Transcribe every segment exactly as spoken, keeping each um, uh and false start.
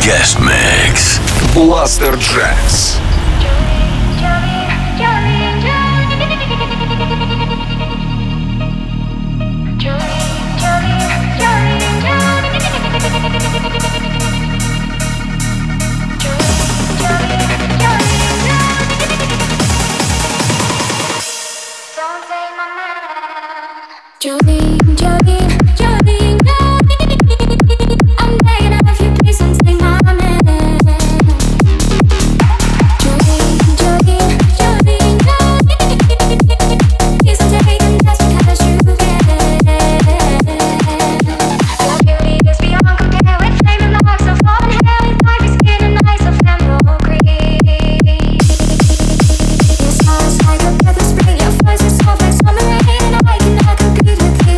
Guest Mix. Blaster Jazz. Jolene, Jolene, Jolene, Jolene, I'm begging of you, please don't take my man. Jolene, Jolene, Jolene, Jolene, please don't take him just because you can. Your beauty is beyond compare with flaming locks of long hair, with ivory skin and eyes of emerald green. Your smile's like a breath of spring, your voice is soft like summer rain, and I cannot compete with you.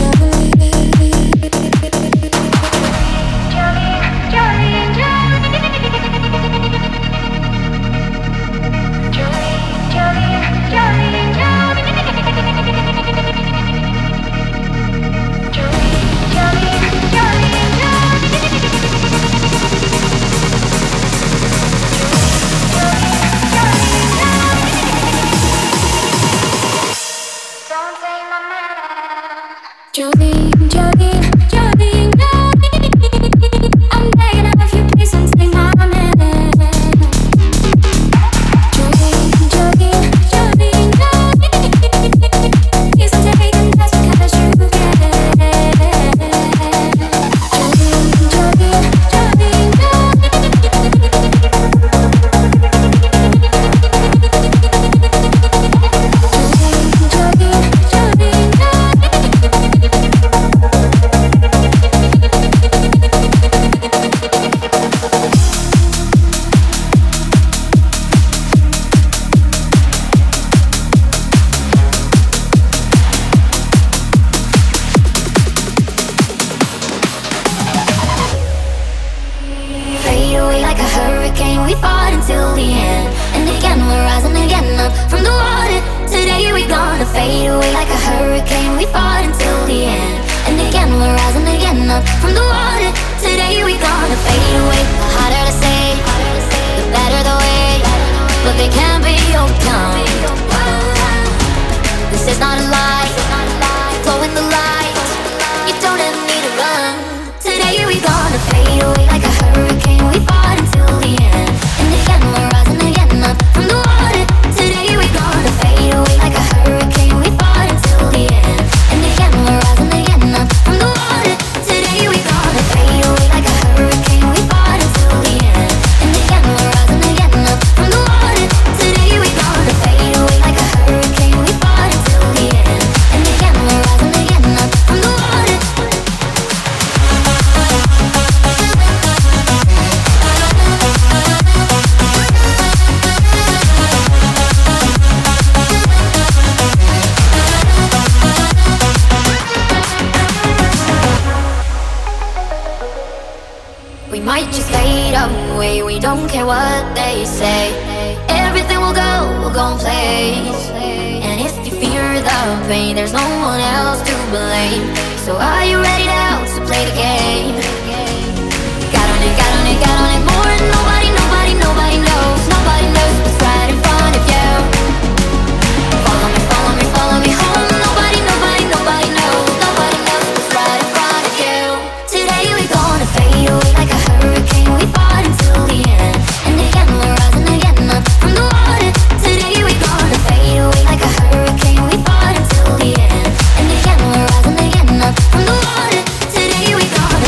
Jolene, Jolene, Jolene, Jolene, I'm begging of you, please don't take my man. Jolene, Jolene, Jolene, Jolene, please don't take him just because you can. Jolene, Jolene, Jolene, Today we gonna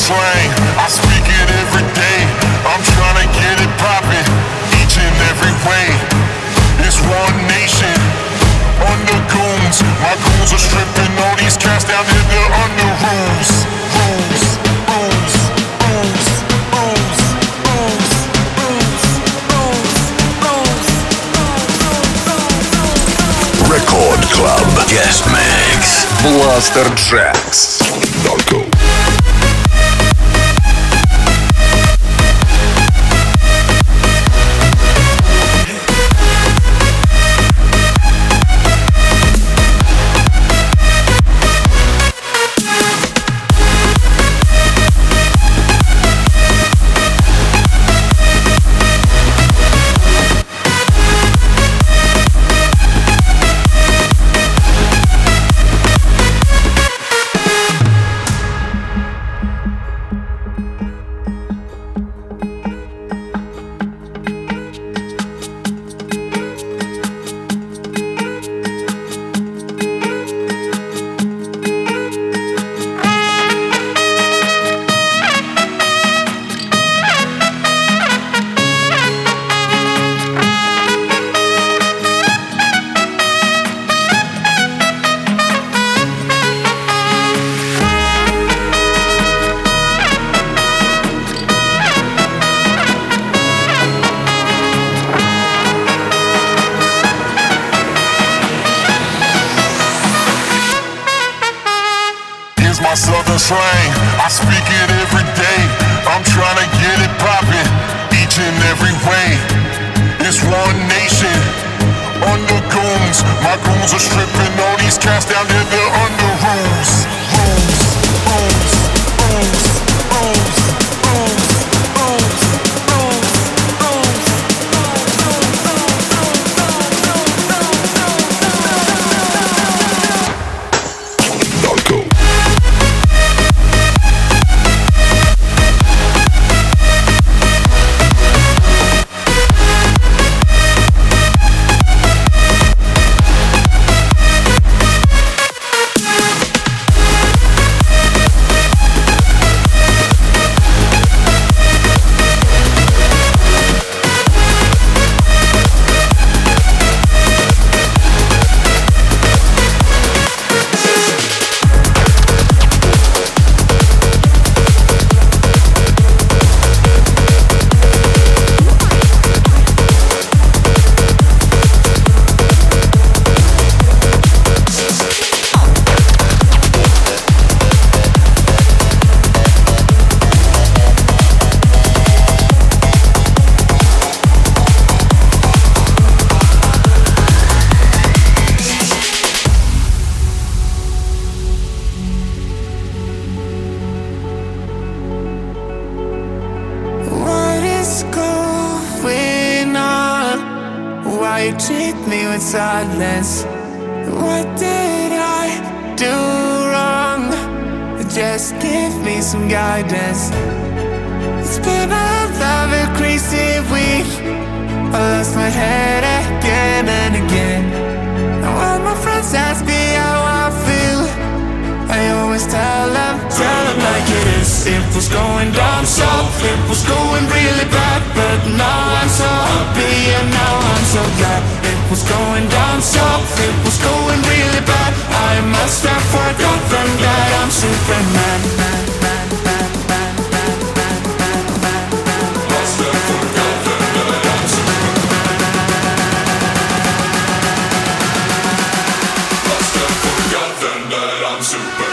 slang, I speak it every day. I'm trying to get it poppin', each and every way. It's one nation, under goons. My goons are stripping all these cats down in the under rules. Rules, rules, rules, rules, rules, rules, rules, rules. Record Club Guest Mix. Blaster Jacks. Darko. My southern slang, I speak it every day. I'm trying to get it poppin', each and every way. It's one nation, under goons. My goons are stripping all these cats down in the under rules. Rules, rules, rules, rules, rules, rules, rules, rules. Darko. Silence. What did I do wrong? Just give me some guidance. It's been a lovely, crazy week. I lost my head again and again. And when my friends ask me how I feel, I always tell them, tell them like it is. It was going down south, it was going really bad, but now I'm so happy and now I'm so glad. It was going down south, it was going really bad. I must have forgotten that I'm Superman. Must have forgotten that I'm Superman. Must have forgotten that I'm Superman.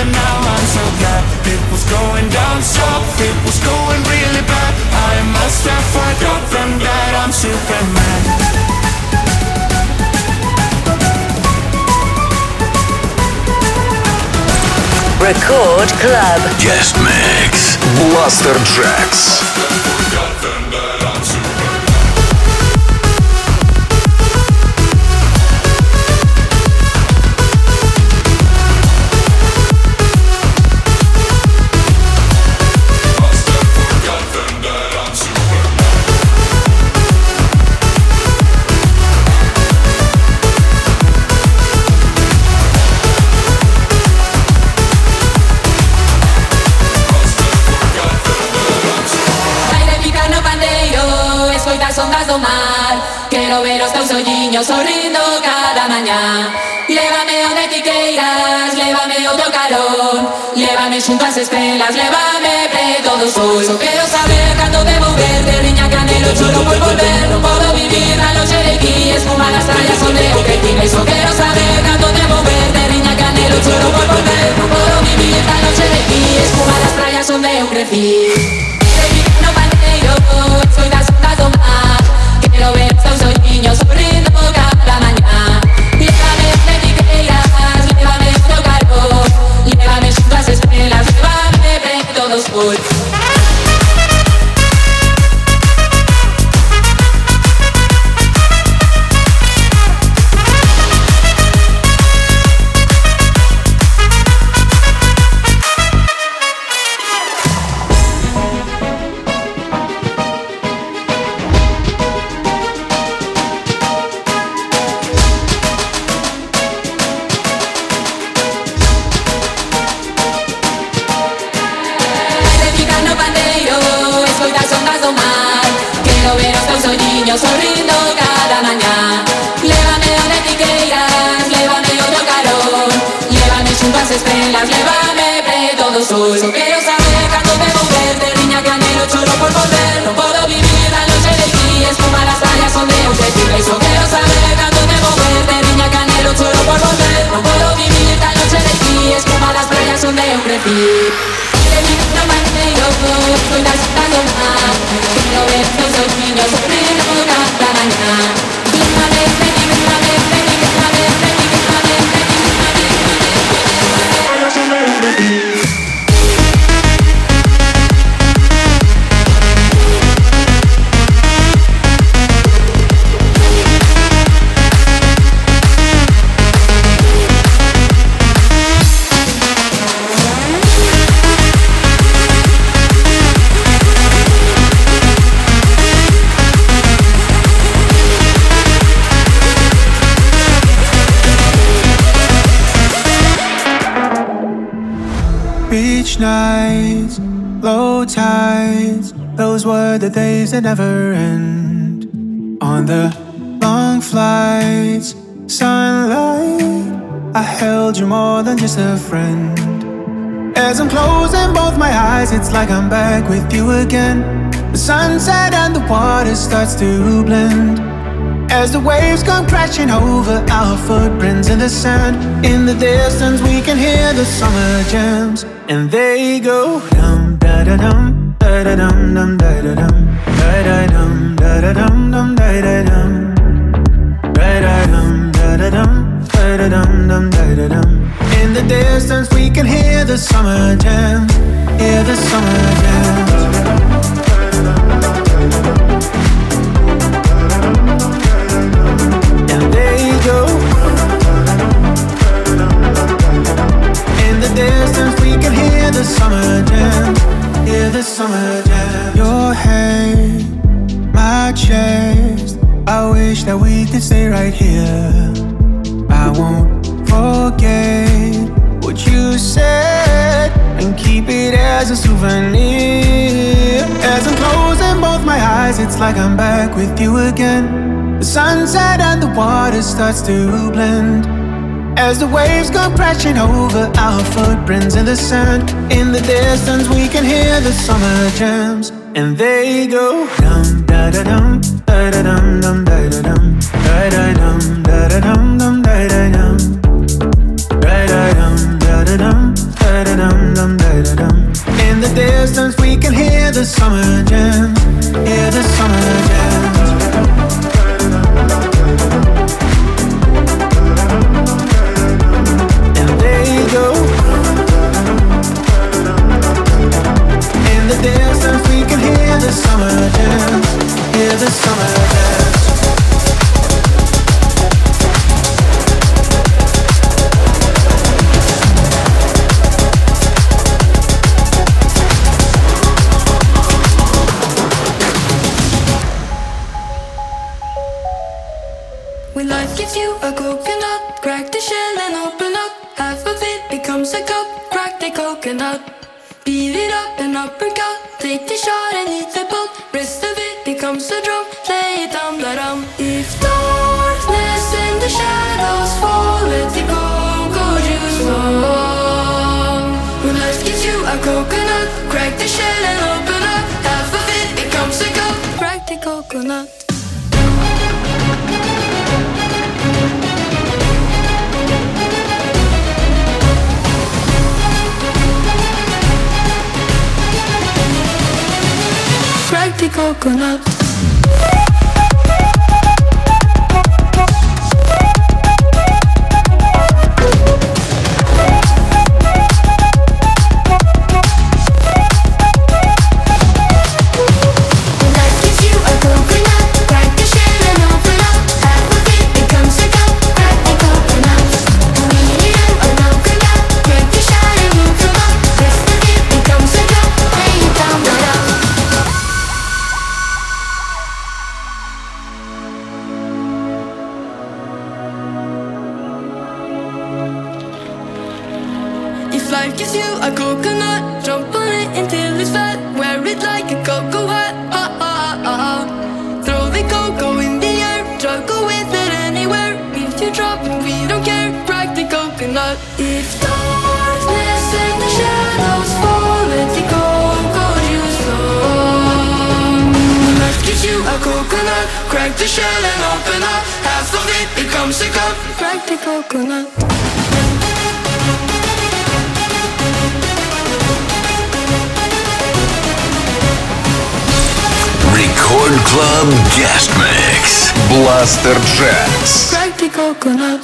but now I'm so glad. It was going down south, it was going really bad. I must have forgotten that I'm Superman. Record Club. Guest Mix. Blaster Jacks. Ondas do mar, quero ver os teus olliños sorrindo cada mañá. Lévame onde ti queiras, lévame o teu carón, lévame xunto ás estrelas, lévame preto do sol. Só quero saber cando debo verte, riña que anhelo, choro por volver. Non podo vivir na longe de ti, espuma nas praias onde eu crecí. Só quero saber cando debo verte, riña que anhelo, choro por volver. Non podo vivir na longe de ti, espuma nas praias onde eu crecí. No bandeiro, soy das ondas do mar. Quero ver os teus olliños sorrindo cada mañá. Lévame onde ti queiras, lévame o teu calor, lévame xunto ás estrelas, lévame preto do sol. Sorrindo cada mañá. Lévame onde ti queiras, lévame o teu calor, lévame xunto ás estrelas, lévame preto do sol. Só quero saber cando debo verte, riña que anhelo, choro por volver. Non podo vivir na longe de ti, espuma nas praias onde eu crecí. Só quero saber cando debo verte, riña que anhelo, choro por volver. Non podo vivir na longe de ti, espuma nas praias onde eu crecí. No bandeiro, soy das ondas do mar. Quero ver os teus olliños sorrindo cada mañá. Lévame, lévame, lévame, lévame, lévame, lévame, lévame, lévame, lévame. Beach nights, low tides, those were the days that never end. On the long flights, sunlight, I held you more than just a friend. As I'm closing both my eyes, it's like I'm back with you again. The sunset and the water starts to blend. As the waves come crashing over our footprints in the sand. In the distance we can hear the summer jams, and they go dum da da dum da da dum dum da da dum da da dum da da dum dum da da dum da da dum da da dum da da dum dum da da dum. In the distance we can hear the summer jams, hear the summer jams. Go. In the distance we can hear the summer jam, hear the summer jam. Your hand, my chest, I wish that we could stay right here. I won't forget what you said and keep it as a souvenir. As I'm closing both my eyes, it's like I'm back with you again. The sunset and the water starts to blend. As the waves come crashing over our footprints in the sand. In the distance we can hear the summer jams, and they go dum da da dum da da dum dum da da dum da da dum da da dum dum da da dum da da dum da da dum da the summer jam, hear the summer jam. And there you go. In the distance we can hear the summer jam, hear the summer jam. When life gives you a coconut, crack the shell and open up. Half of it becomes a cup, crack the coconut. Beat it up and uppercut, take the shot and eat the pulp. Rest of it becomes a drum, lay it down, let 'em. If darkness and the shadows fall, let the cocoa juice flow. When life gives you a coconut, crack the shell and open up. Half of it becomes a cup, crack the coconut. Crack the coconut. Life gives you a coconut, jump on it until it's fat. Wear it like a cocoa hat, ha ha ha ha. Throw the cocoa in the air, juggle with it anywhere. If you drop it, we don't care, crack the coconut. If darkness and the shadows fall, let the cocoa juice flow. Life gives you a coconut, crack the shell and open up. Half of it becomes a cup, crack the coconut. Record Club Guest Mix. Blaster Jacks. Crack the coconut.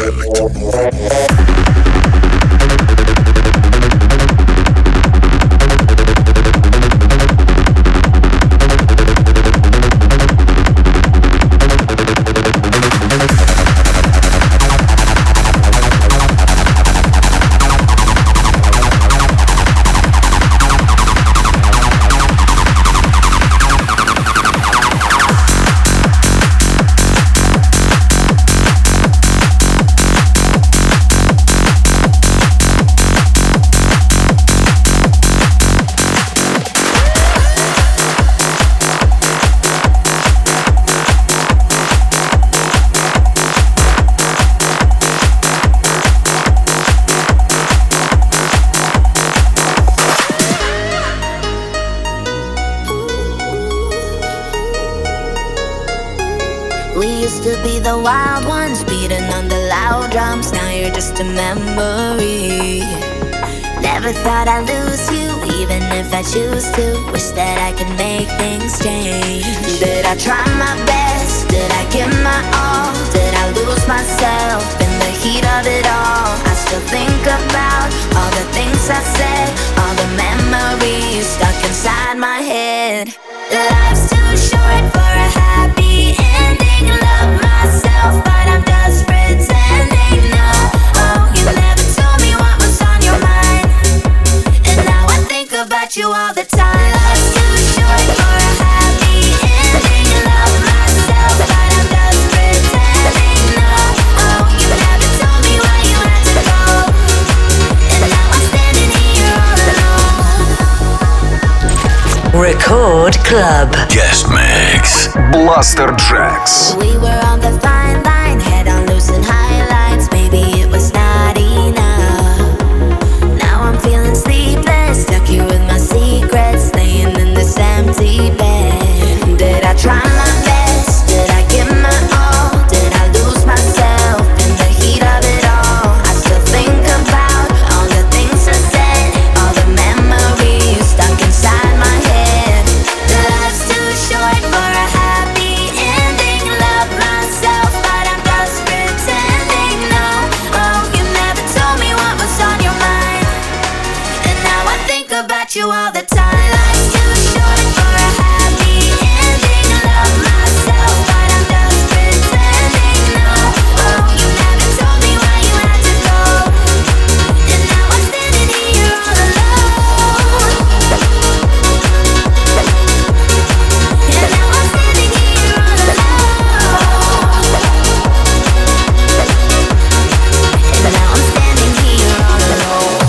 Just a memory. Never thought I'd lose you, even if I choose to. Wish that I could make things change. Did I try my best? Did I give my all? Did I lose myself in the heat of it all? I still think about all the things I said, all the memories stuck inside my head. Life's too short for a happy ending. Love myself, but I'm just pretending. No, oh, you never told me what was on your mind, and now I think about you all the time. Life's too short for a happy ending. Love myself, but I'm just pretending. No, oh, you never told me why you had to go, and now I'm standing here all alone. Record Club Guest Mix Blaster Jaxx. We were on the fine line, head on loose and highlights. Maybe it was not enough. Now I'm feeling sleepless, stuck here with my secrets, laying in this empty bed. Did I try my best? Did I give my all? Did I lose myself in the heat of it all? I still think about all the things I said, all the memories stuck inside my head. Life's too short for a happy ending. Love myself, but I'm just pretending. No, oh, you never told me what was on your mind, and now I think about you all the time. Life's too short for a happy ending. Love myself, but I'm just pretending. No, oh, you never told me why you had to go, and now I'm standing here all alone. And now I'm standing here all alone. And now I'm standing here all alone.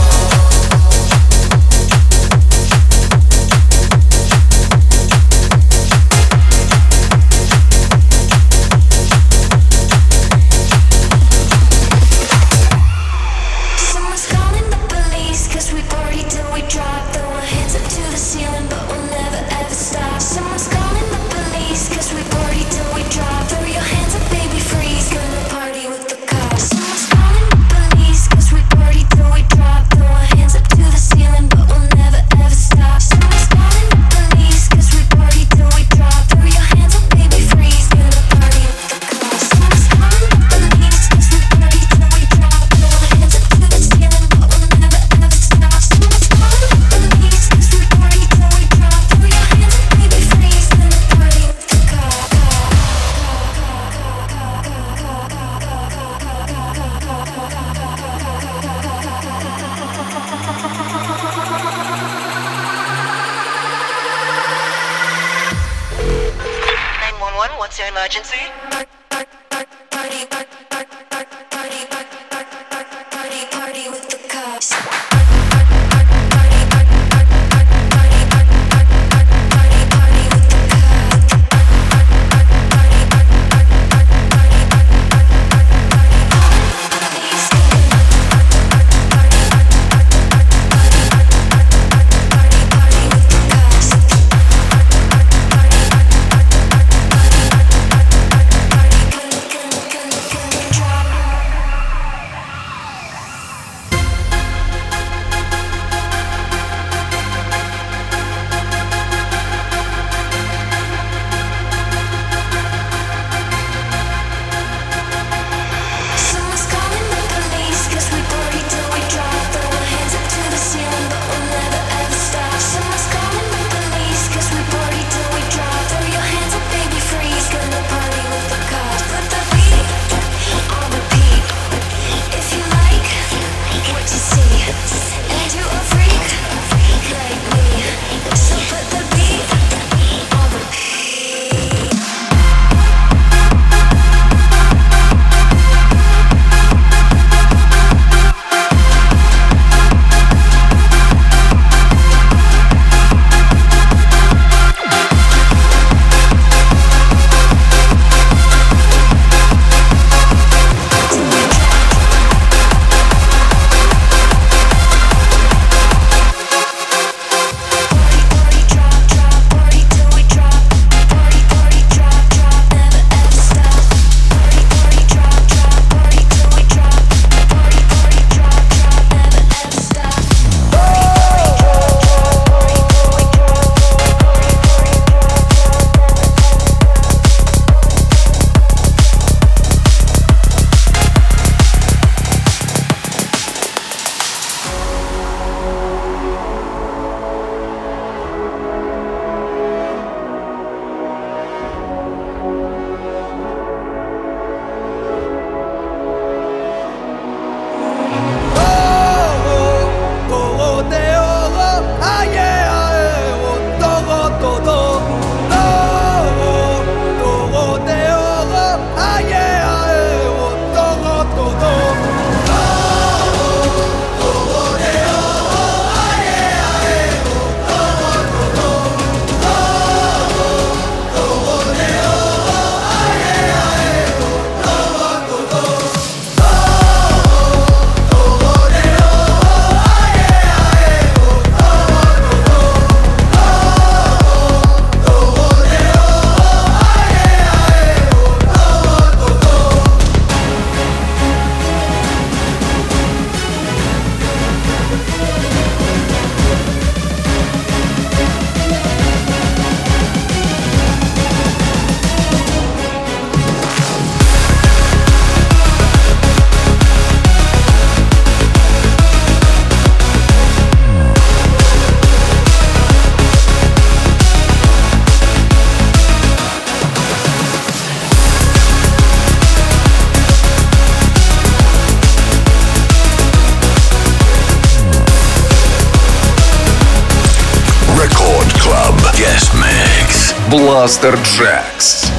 Someone's calling the police, 'cause we party till we drop. Throw our hands up to the ceiling, but we'll never ever stop. Someone's calling the police, 'cause we party till we drop. Throw your hands up, baby, freeze, gonna party with the cops. Someone's calling the police, 'cause we party till we drop. Throw our hands up to the ceiling, but we'll never ever stop. Someone's calling the police, 'cause we party till we drop. Throw your hands up, baby, freeze, gonna party with the cops. Someone's calling the police, 'cause we party till we drop. Throw our hands up to the ceiling, but we'll never ever stop. Someone's calling the police, 'cause we party till we drop. Throw your hands up, baby, freeze, gonna party with the cops. nine one one, what's your emergency? Party, party, party, party, party with the cops. Party Blaster Jacks.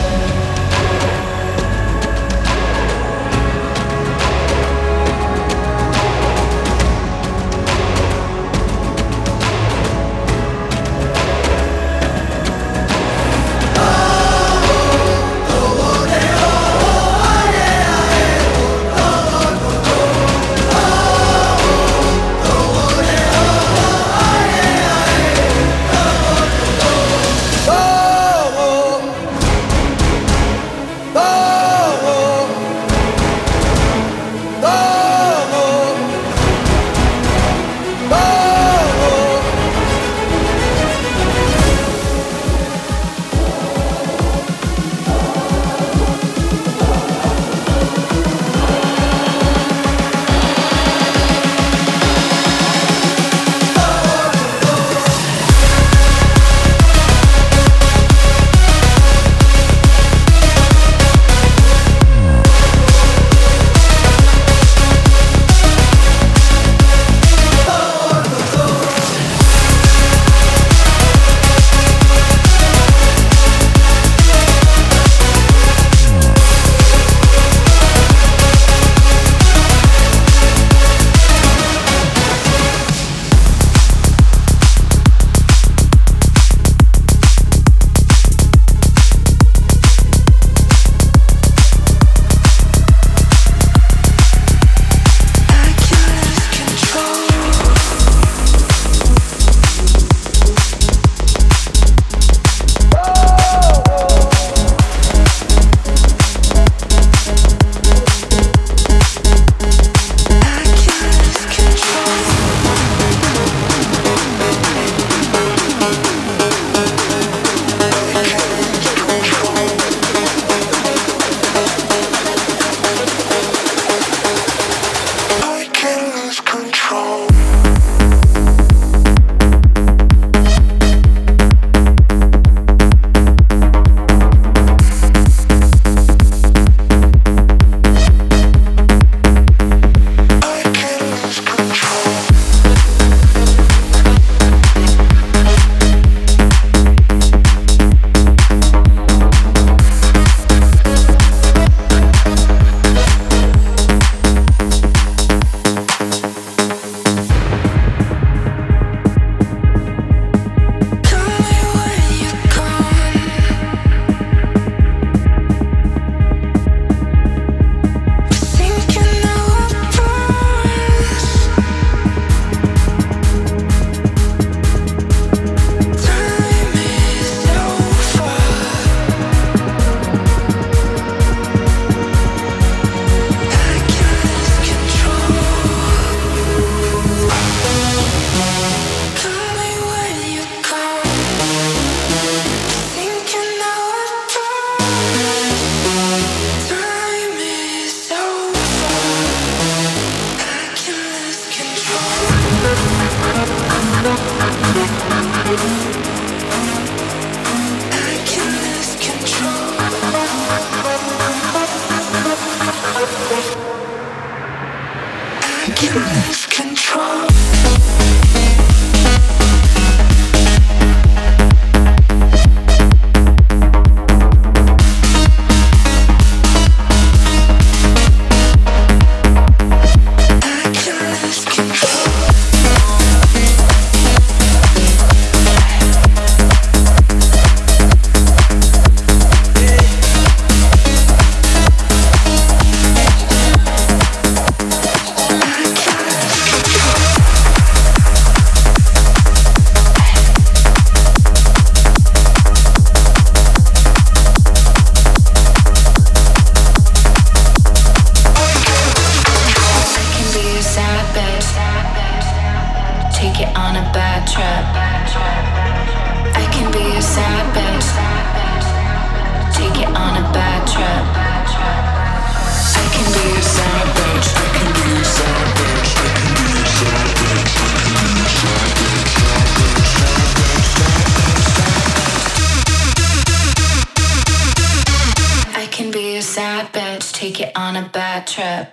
Take it on a bad trip.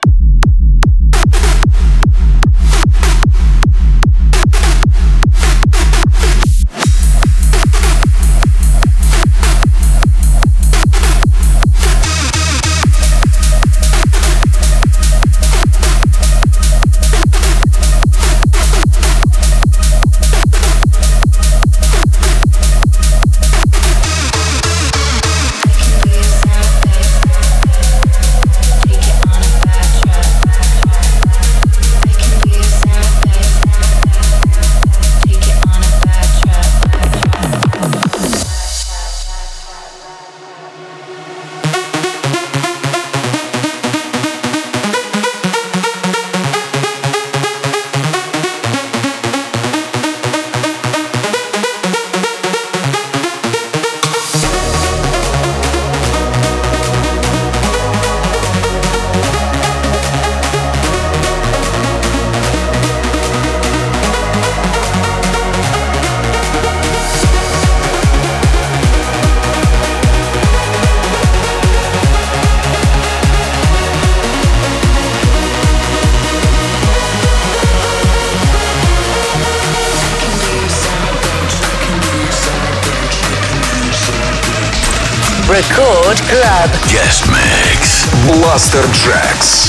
Record Club. Guest Mix. Blaster Jacks.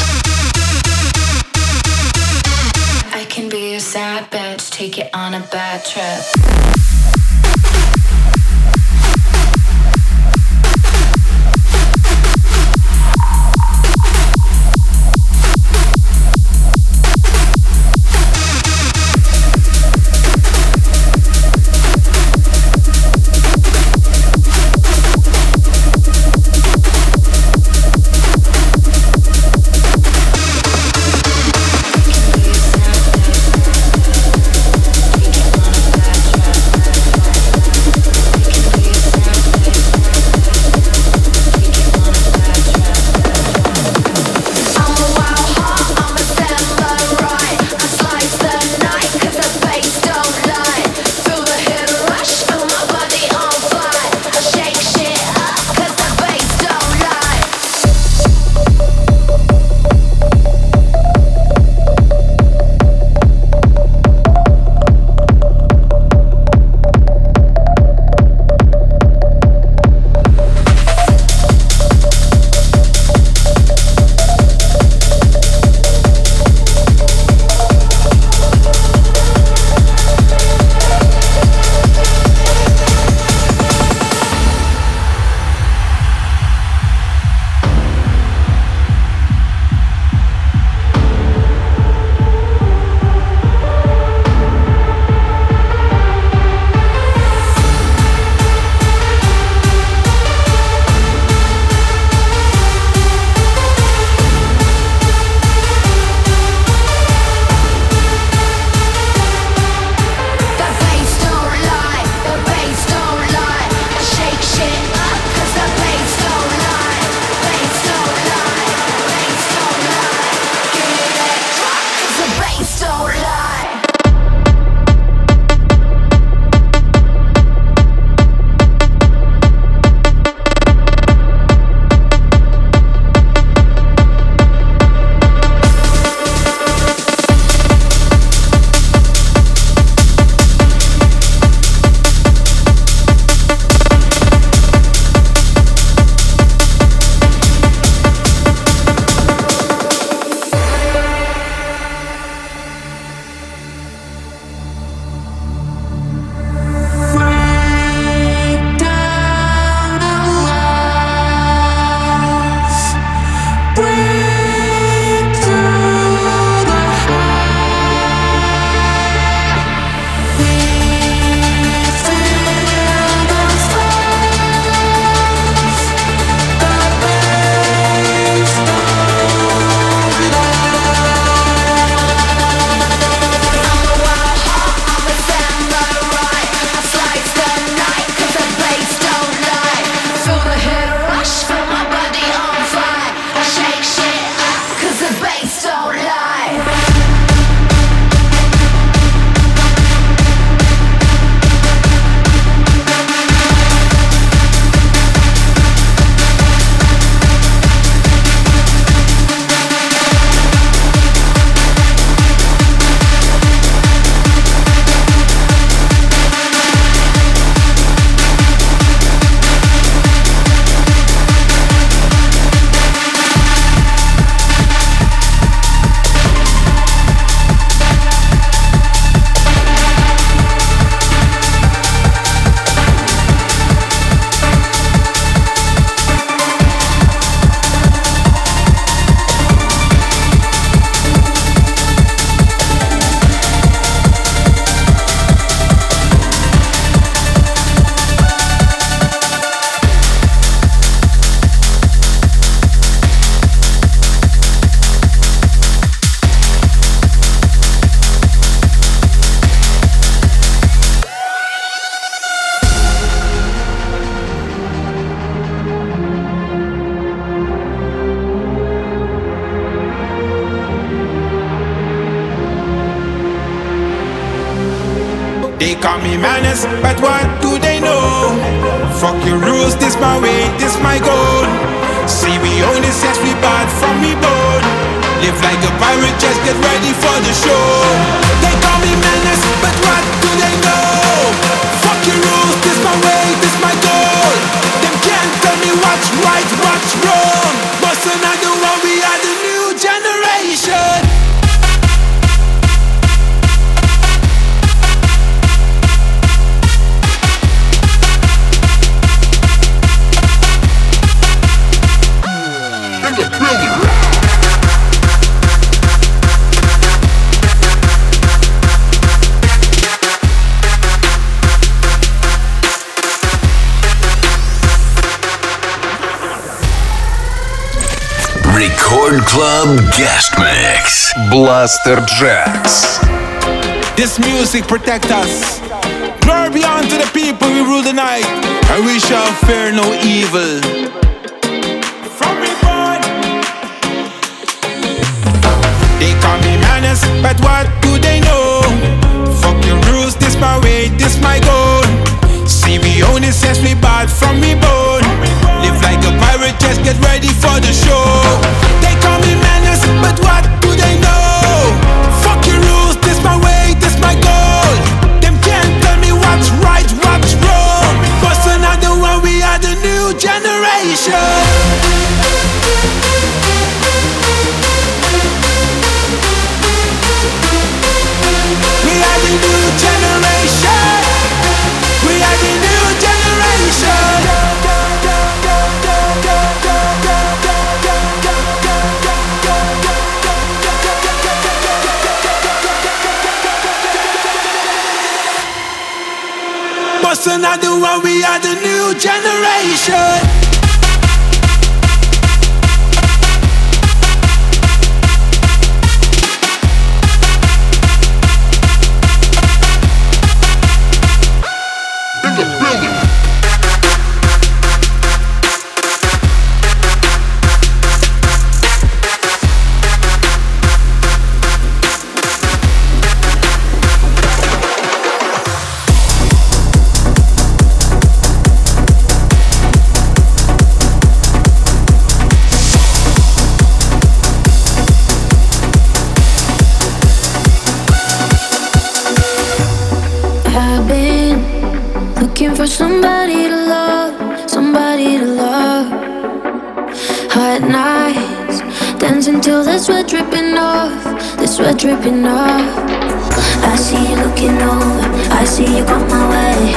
I can be a sad bitch, take it on a bad trip. They call me madness, but what do they know? Fuck your rules, this my way, this my goal. See we own this, yes we bad from we born. Live like a pirate, just get ready for the show. They call me madness, but what do they know? Fuck your rules, this my way, this my goal. Them can't tell me what Club Guest Mix. Blaster Jacks. This music protect us. Glory be unto the people we rule the night, and we shall fear no evil. From me born, they call me menace, but what do they know? Fuck your rules, this my way, this my goal. See we only sense we bad from me bone. Live like a pirate, just get ready for the show. They call me menace, but what do they know? Fuck your rules, this my way, this my goal. Them can't tell me what's right, what's wrong. But another one, we are the new generation. We are the new generation. We are the new generation. What's another one? We are the new generation. Somebody to love, somebody to love. Hot nights, dancing till the sweat dripping off, the sweat dripping off. I see you looking over, I see you come my way.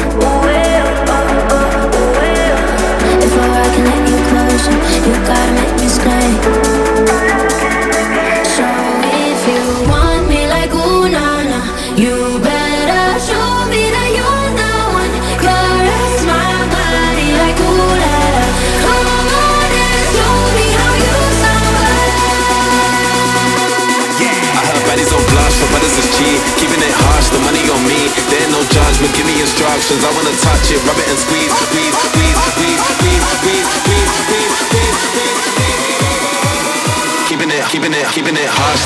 If I can let you closer, you gotta make me stay. So if you want me like ooh na na, you better show me that you're the one. Caress my body like ooh la la. Come on and show me how you sound. Yeah, I heard baddies on blush, but brothers is cheap. Keeping it harsh, the money on me. There ain't no judgment, give me instructions. I wanna touch it, rub it and squeeze, squeeze, squeeze, squeeze, squeeze, squeeze, squeeze, squeeze, squeeze, squeeze, squeeze. Keeping it, keeping it, keeping it harsh.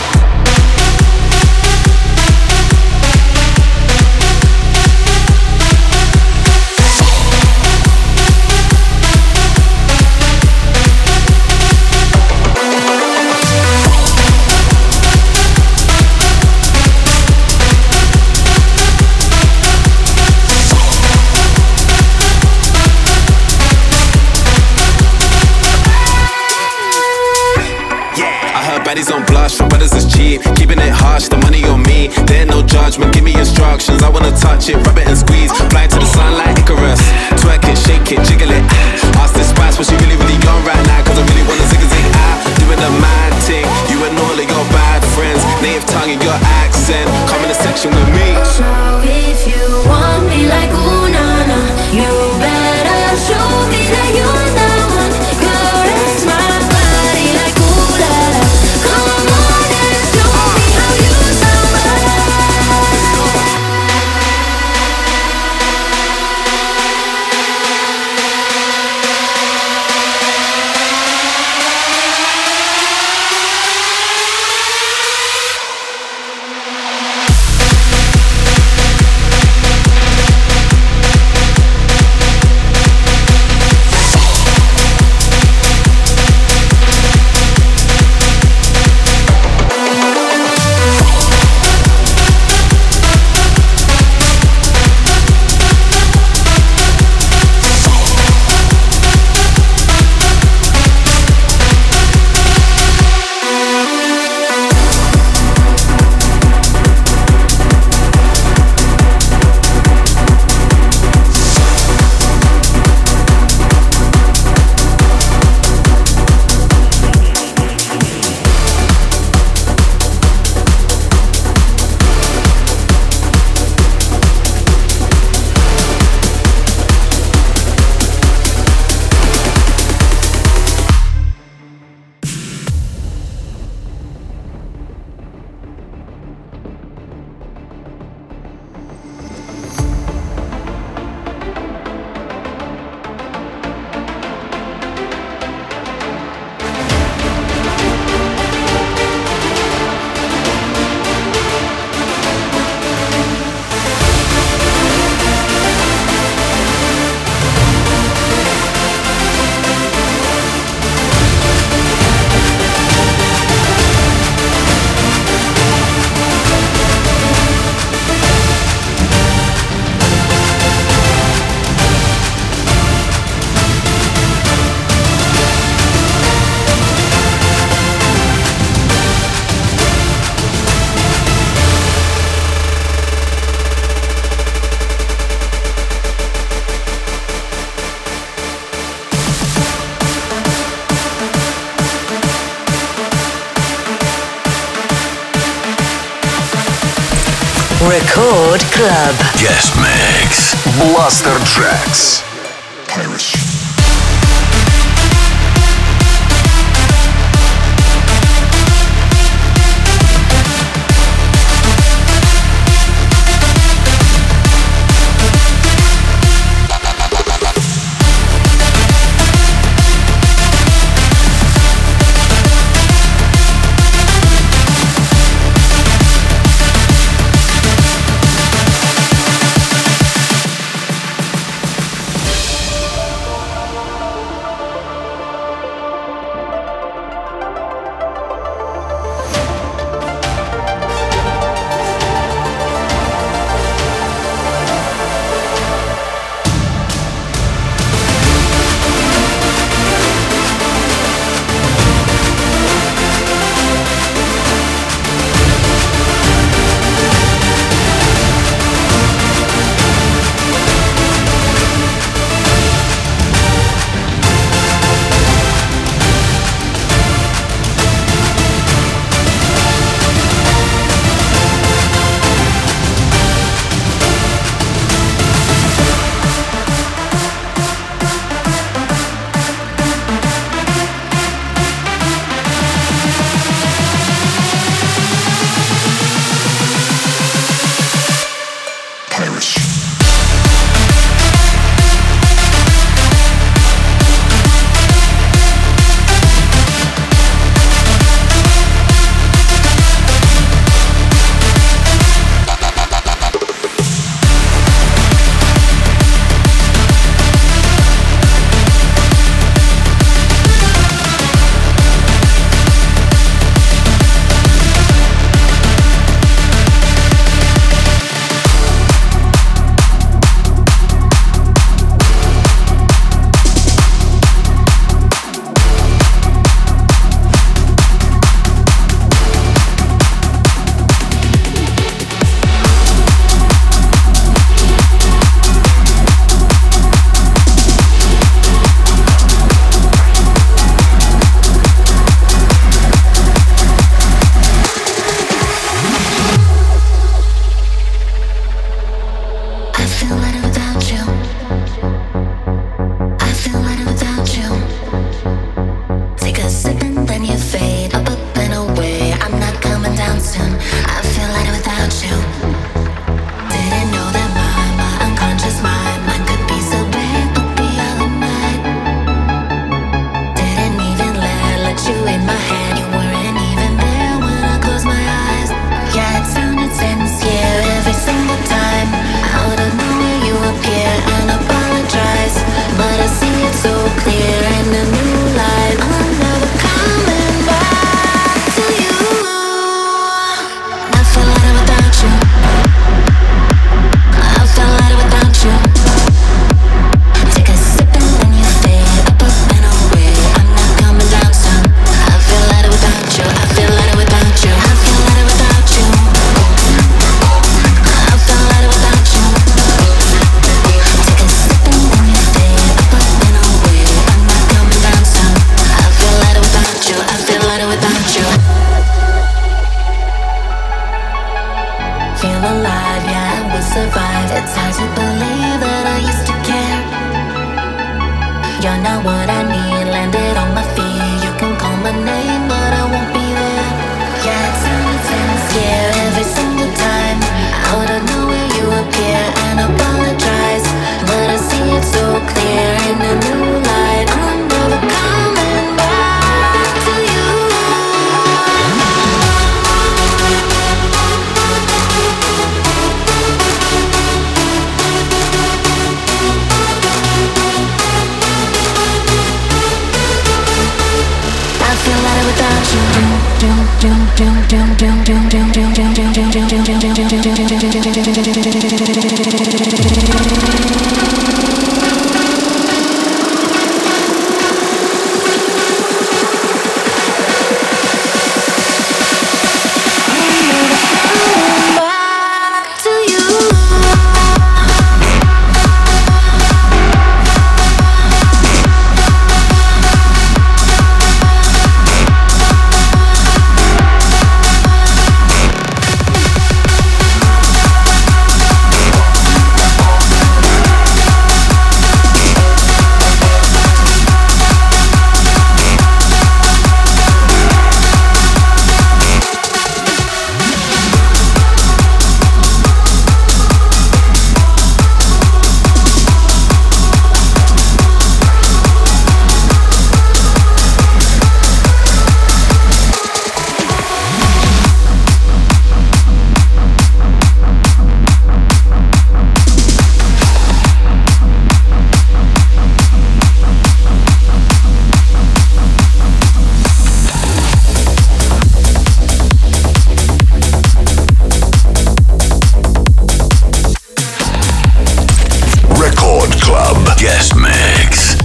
Baddies on blush, for brothers is cheap. Keeping it harsh, the money on me. There ain't no judgment, give me instructions. I wanna touch it, rub it and squeeze. Fly to the sun like Icarus. Twerk it, shake it, jiggle it. Ask this spice, but she really, really young right now. Cause I really wanna zig a zig out. Doing the mad thing. You and all of your bad friends. Native tongue and your accent. Come in the section with me. So if you want me like ooh na na, you better show me that you're the one. Caress my body like ooh la la. Come on and show me how you sound. Record Club. Guest Mix. Blaster Jacks. Piracy.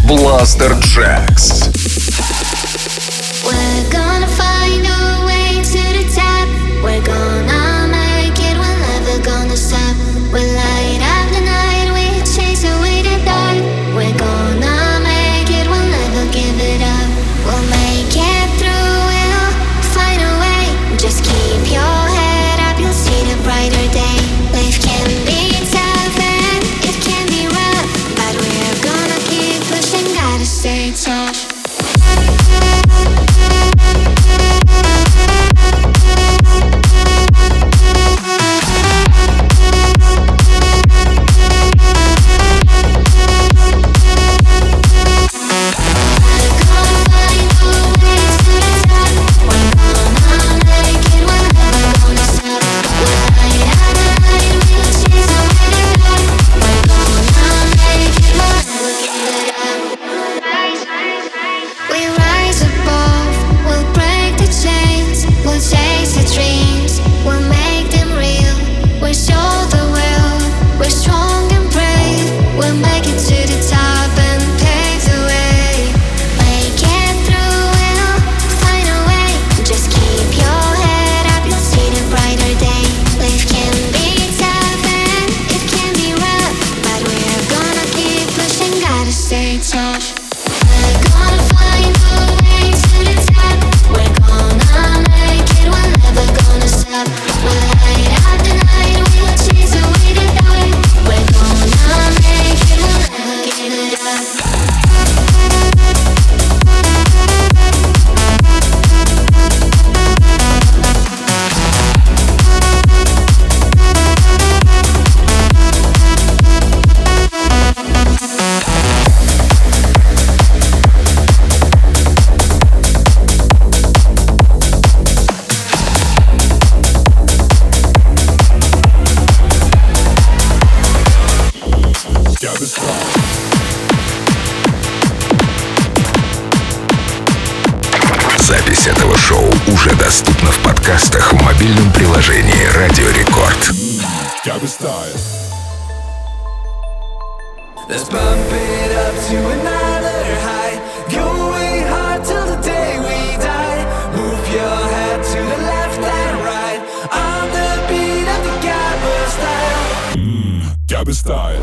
Blaster Jacks. We're gonna find our way to the top. We're gonna make it, we're never gonna stop. We'll light up the night, we chase away the dark. We're gonna make it, we'll never give it up. We'll make it through, we'll find a way. Just keep your head up, you'll see the brighter day. Life can be tough and it can be rough, but we're gonna keep pushing, gotta stay tough. Запись этого шоу уже доступна в подкастах в мобильном приложении Радио Рекорд. Let's bump it up to another high. Going hard till the day we die. Move your head to the left and right. On the beat of the Gabba style. Mmm, Gabba style.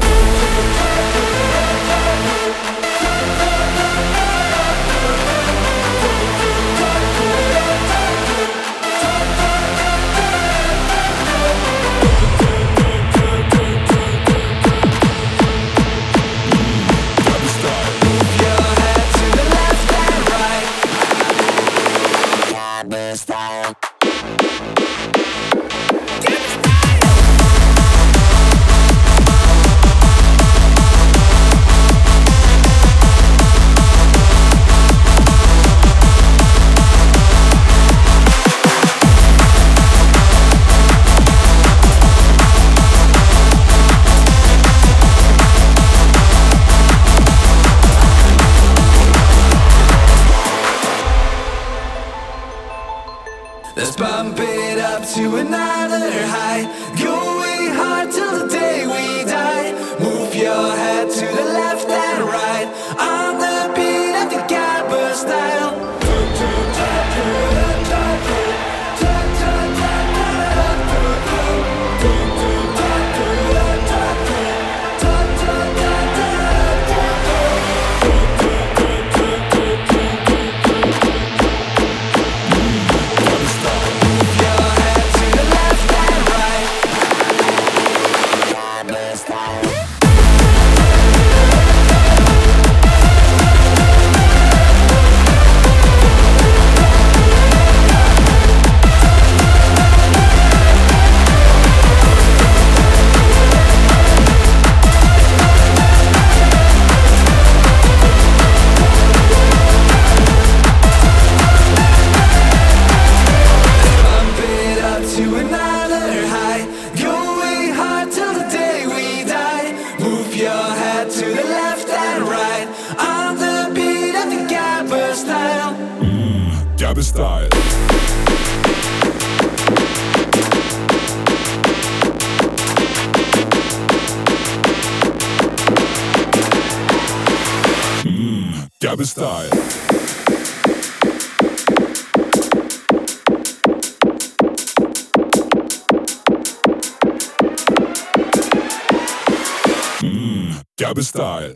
Let's bump it up to another high. Going hard till the day we die. Move your head to the left and right. On the beat of the Gabba style. Gabba style. Mm. Gabby Style. Mmm, Gabby Style.